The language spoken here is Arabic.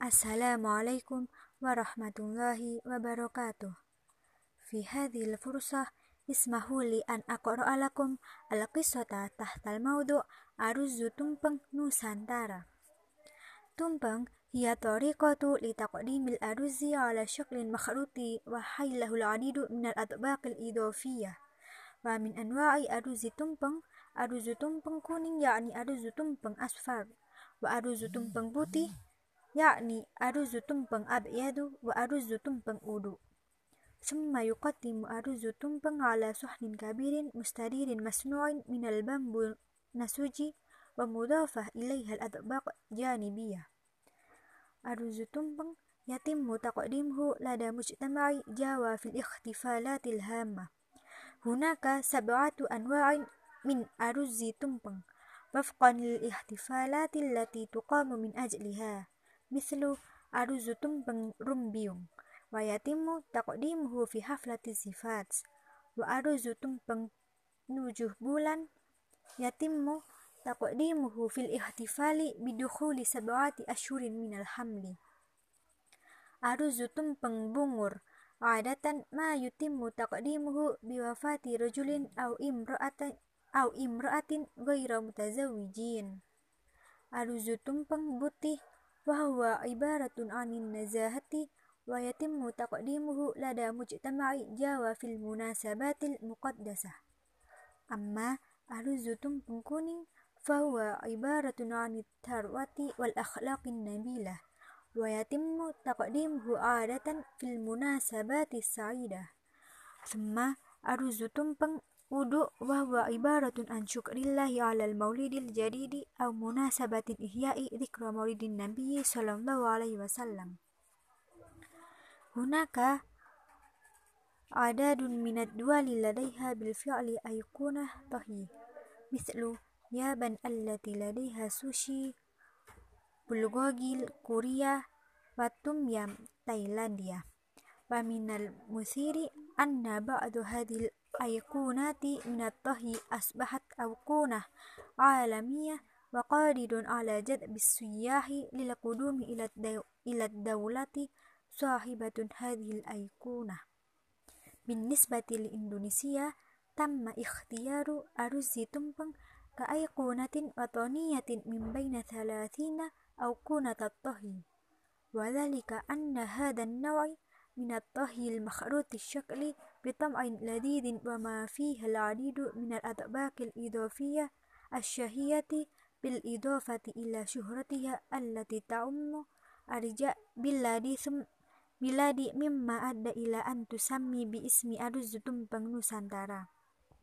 Assalamualaikum warahmatullahi wabarakatuh. في هذه الفرصة اسمحوا لي أن أقرأ لكم القصة تحت الموضوع أرز tumpeng نوسانتارا. tumpeng هي طريقة لتقديم الأرز على شكل مخروط وحي له العديد من الأطباق الإضافية. ومن أنواع أرز tumpeng kuning يعني أرز tumpeng أصفر، وأرز tumpeng putih يعني أرز tumpeng أبيض، وأرز tumpeng أودو. ثم يقدم أرز tumpeng على صحن كبير مستدير مصنوع من البامبو نسوجي ومضافة إليها الأطباق جانبية. أرز tumpeng يتم تقديمه لدى مجتمع جاوا في الاحتفالات الهامة. هناك 7 أنواع من أرز tumpeng وفقا للاحتفالات التي تقام من أجلها، مثل أرز tumpeng rumbiung ويتم تقديمه في حفلة الزفاف، وأرز tumpeng 7 bulan يتم تقديمه في الاحتفال بدخول 7 أشهر من الحمل. أرز tumpeng bungur عادة ما يتم تقديمه بوفاة رجل أو امرأة غير متزوجين. أرز tumpeng putih وهو عبارة عن النزاهة ويتم تقديمه لدى مجتمع جاوا في المناسبات المقدسة. أما أرز tumpeng kuning فهو عبارة عن الثروة والأخلاق النبيلة ويتم تقديمه عادة في المناسبات السعيدة. ثم أرز tumpeng أودو وهو عبارة عن شكر الله على المولد الجديد أو مناسبة إحياء ذكرى مولد النبي صلى الله عليه وسلم. هناك عدد من الدول لديها بالفعل أيقونة طهي، مثل اليابان التي لديها سوشي، بلغوغي كوريا، وتوم يام تايلانديا. ومن المثير أن بعض هذه الأيقونات من الطهي أصبحت أيقونة عالمية وقادر على جذب السياح للقدوم إلى الدولة صاحبة هذه الأيقونة. بالنسبة لإندونيسيا تم اختيار أرز tumpeng كأيقونة وطنية من بين 30 أيقونة الطهي، وذلك أن هذا النوع من الطهي المخروط الشكل بطعم لذيذ وما فيه العديد من الأطباق الإضافية الشهية، بالإضافة إلى شهرتها التي تعم أرجاء بلاد مما أدى إلى أن تسمي باسم أرز tumpeng نوسانتارا.